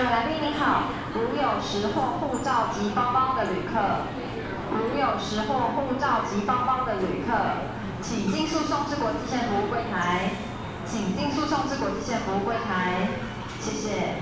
位来宾您好，如有时或护照及包包的旅客，如有时或护照及包包的旅客，请进诉讼之国际线服务柜台，请进诉讼之国际线服务柜台，谢谢。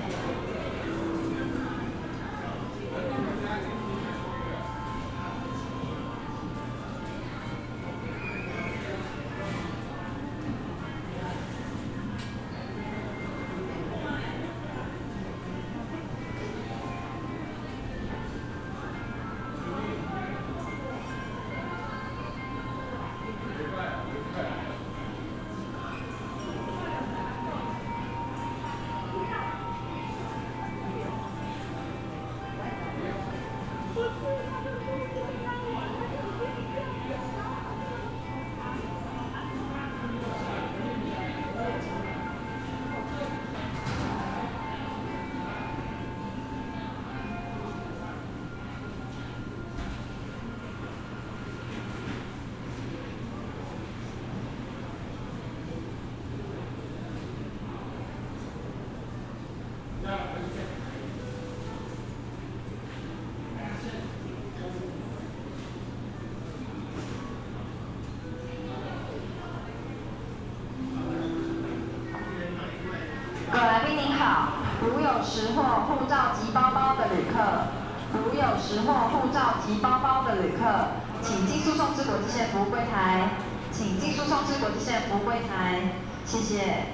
各位来宾您好，如有时或护照及包包的旅客，如有时或护照及包包的旅客，请进诉讼之国际线服务柜台，请进诉讼之国际线服务柜台，谢谢。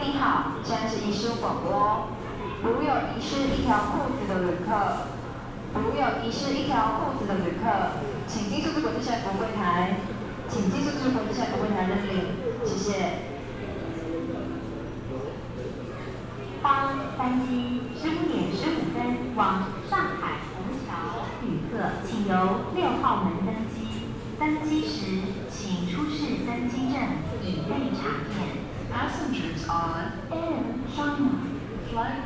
您好，现在是遗失广播。如有遗失一条裤子的旅客，请进数字国际线服务柜台，认领，谢谢。 帮班机15:15往上海虹桥旅客，请由6号门登机。登机时，请出示登机证以备查验。 Passengers on Air China Flight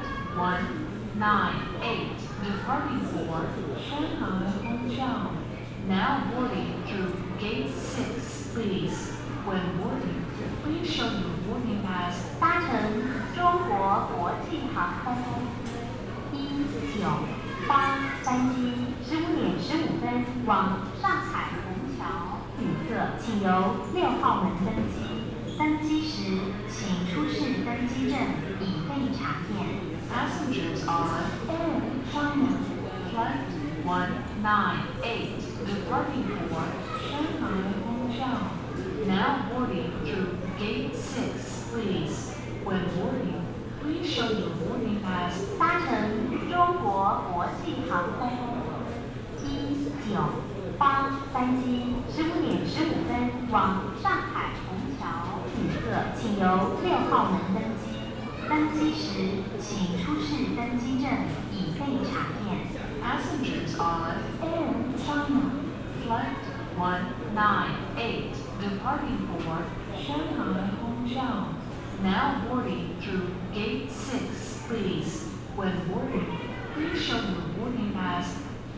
198 departing for Shanghai Hongqiao. Now boarding through Gate 6, please. When boarding, please show your boarding pass. 搭乘中国国际航空公司198班机15:15往上海虹桥旅客，请由6号门登机。登机时，请出示登机证以备查验。 Passengers on Air China Flight 198 departing for Shanghai Hongqiao. Now boarding through Gate 6, please. When boarding, please show your boarding pass. 搭乘中国国际航空公司198班机15:15往上海虹桥旅客，请由6号门登机。登机时，请出示登机证以备查验。 Passengers on Air China Flight 198 departing for Shanghai Hongqiao. Now boarding through Gate 6, please. When boarding, please show your boarding pass.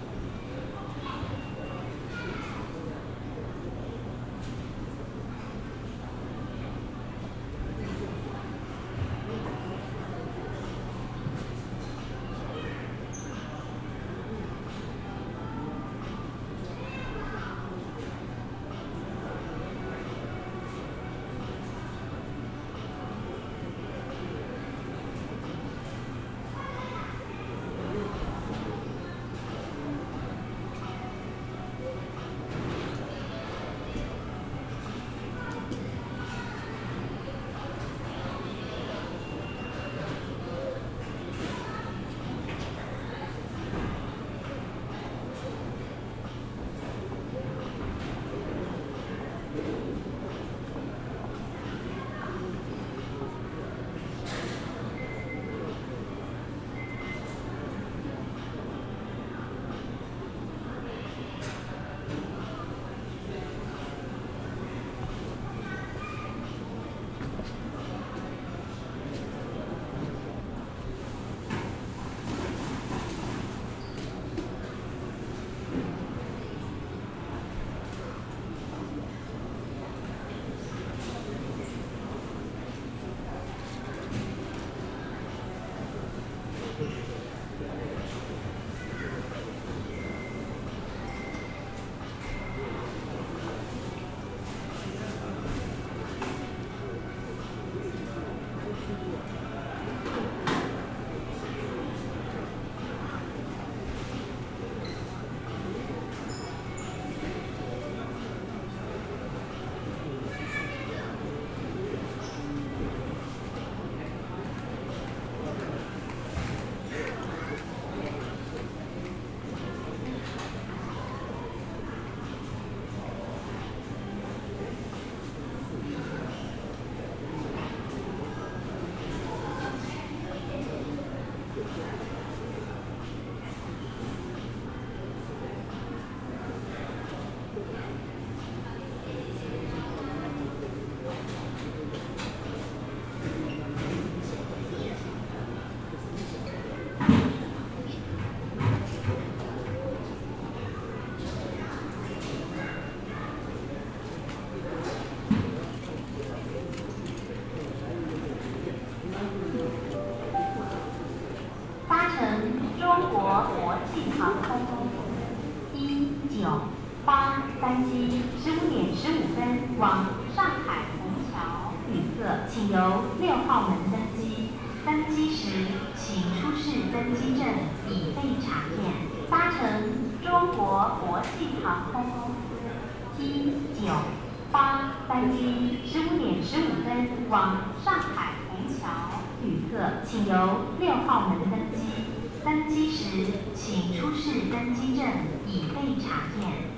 中国国际航空公司198班机15:15往上海虹桥旅客，请由6号门登机。登机时，请出示登机证以备查验。搭乘中国国际航空公司198 班机15点15分往上海虹桥，旅客请由6号门登机。登机时，请出示登机证以备查验。